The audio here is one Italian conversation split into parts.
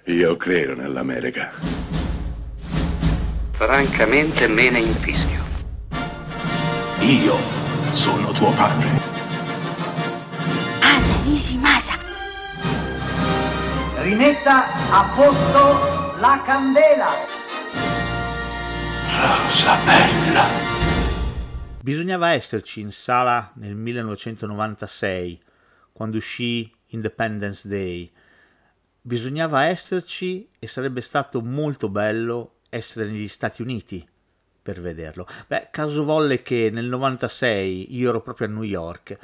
Io credo nell'America. Francamente me ne infischio. Io sono tuo padre. Anna Nishimasa. Rimetta a posto la candela. Rosa bella. Bisognava esserci in sala nel 1996, quando uscì Independence Day. Bisognava esserci e sarebbe stato molto bello essere negli Stati Uniti per vederlo. Caso volle che nel 96 io ero proprio a New York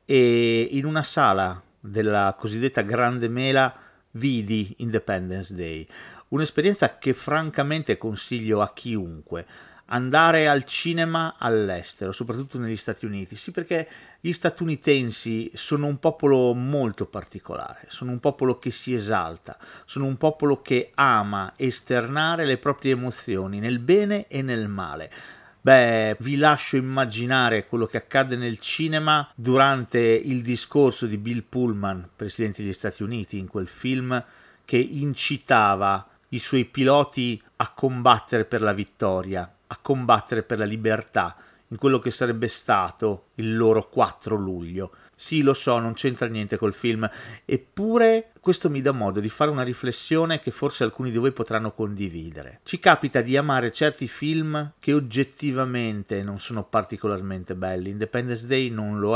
e in una sala della cosiddetta Grande Mela vidi Independence Day. Un'esperienza che francamente consiglio a chiunque. Andare al cinema all'estero, soprattutto negli Stati Uniti, sì, perché gli statunitensi sono un popolo molto particolare, sono un popolo che si esalta, sono un popolo che ama esternare le proprie emozioni nel bene e nel male. Vi lascio immaginare quello che accadde nel cinema durante il discorso di Bill Pullman, presidente degli Stati Uniti, in quel film che incitava i suoi piloti a combattere per la vittoria, a combattere per la libertà, in quello che sarebbe stato il loro 4 luglio. Sì, lo so, non c'entra niente col film, eppure questo mi dà modo di fare una riflessione che forse alcuni di voi potranno condividere. Ci capita di amare certi film che oggettivamente non sono particolarmente belli. Independence Day non lo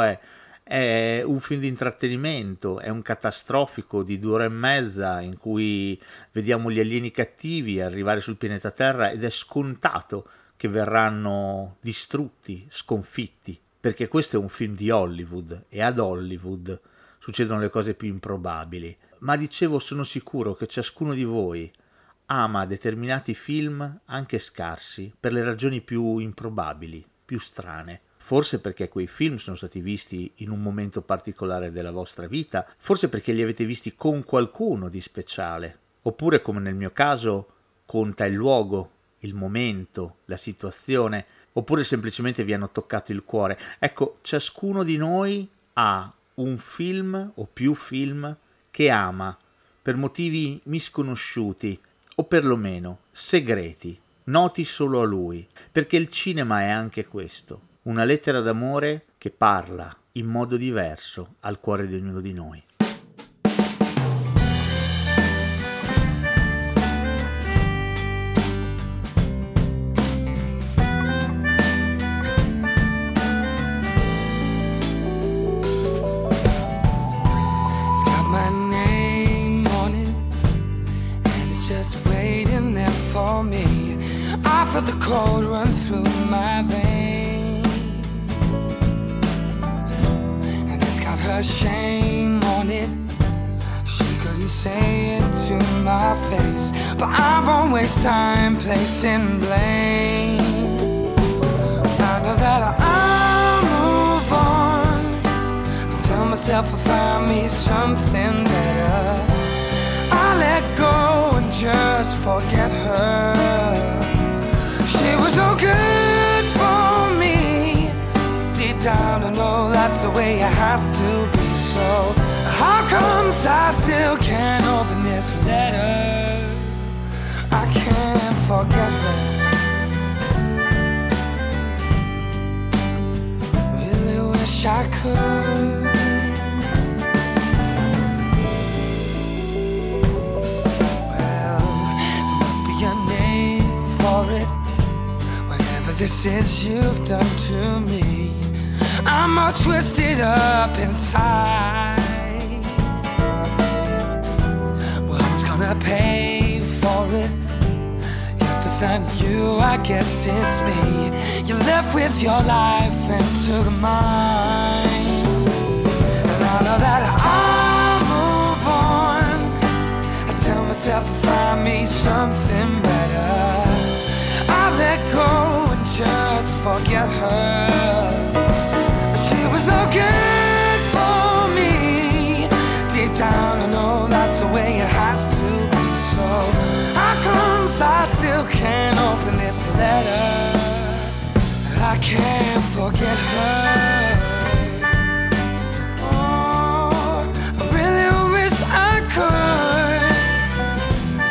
è un film di intrattenimento, è un catastrofico di 2 ore e mezza in cui vediamo gli alieni cattivi arrivare sul pianeta Terra ed è scontato che verranno distrutti, sconfitti, perché questo è un film di Hollywood e ad Hollywood succedono le cose più improbabili. Ma dicevo, sono sicuro che ciascuno di voi ama determinati film anche scarsi per le ragioni più improbabili, più strane. Forse perché quei film sono stati visti in un momento particolare della vostra vita, forse perché li avete visti con qualcuno di speciale, oppure come nel mio caso conta il luogo, il momento, la situazione, oppure semplicemente vi hanno toccato il cuore. Ecco, ciascuno di noi ha un film o più film che ama per motivi misconosciuti o perlomeno segreti, noti solo a lui, perché il cinema è anche questo, una lettera d'amore che parla in modo diverso al cuore di ognuno di noi. I felt the cold run through my veins, and it's got her shame on it. She couldn't say it to my face, but I won't waste time placing blame. I know that I'll move on. I tell myself I'll find me something better. I'll let go and just forget her. She was no good for me. Deep down I know that's the way it has to be. So how comes I still can't open this letter? I can't forget her. Really wish I could. This is you've done to me. I'm all twisted up inside. Well, who's gonna pay for it? If it's not you, I guess it's me. You left with your life and took mine. And I know that I'll move on. I tell myself I'll find me something better. I'll let go and just forget her. She was no good for me. Deep down I know that's the way it has to be. So how comes I still can't open this letter? I can't forget her. Oh, I really wish I could.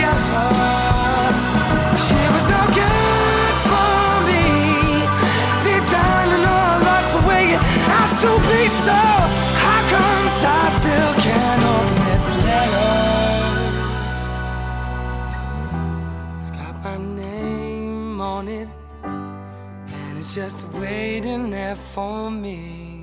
at her. She was no good for me. Deep down in her lots of way it has to be so. How come I still can't open this letter? It's got my name on it, and it's just waiting there for me.